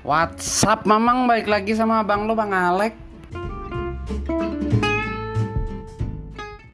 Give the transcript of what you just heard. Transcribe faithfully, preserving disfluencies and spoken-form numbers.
WhatsApp Mamang, balik lagi sama abang lo Bang Alek.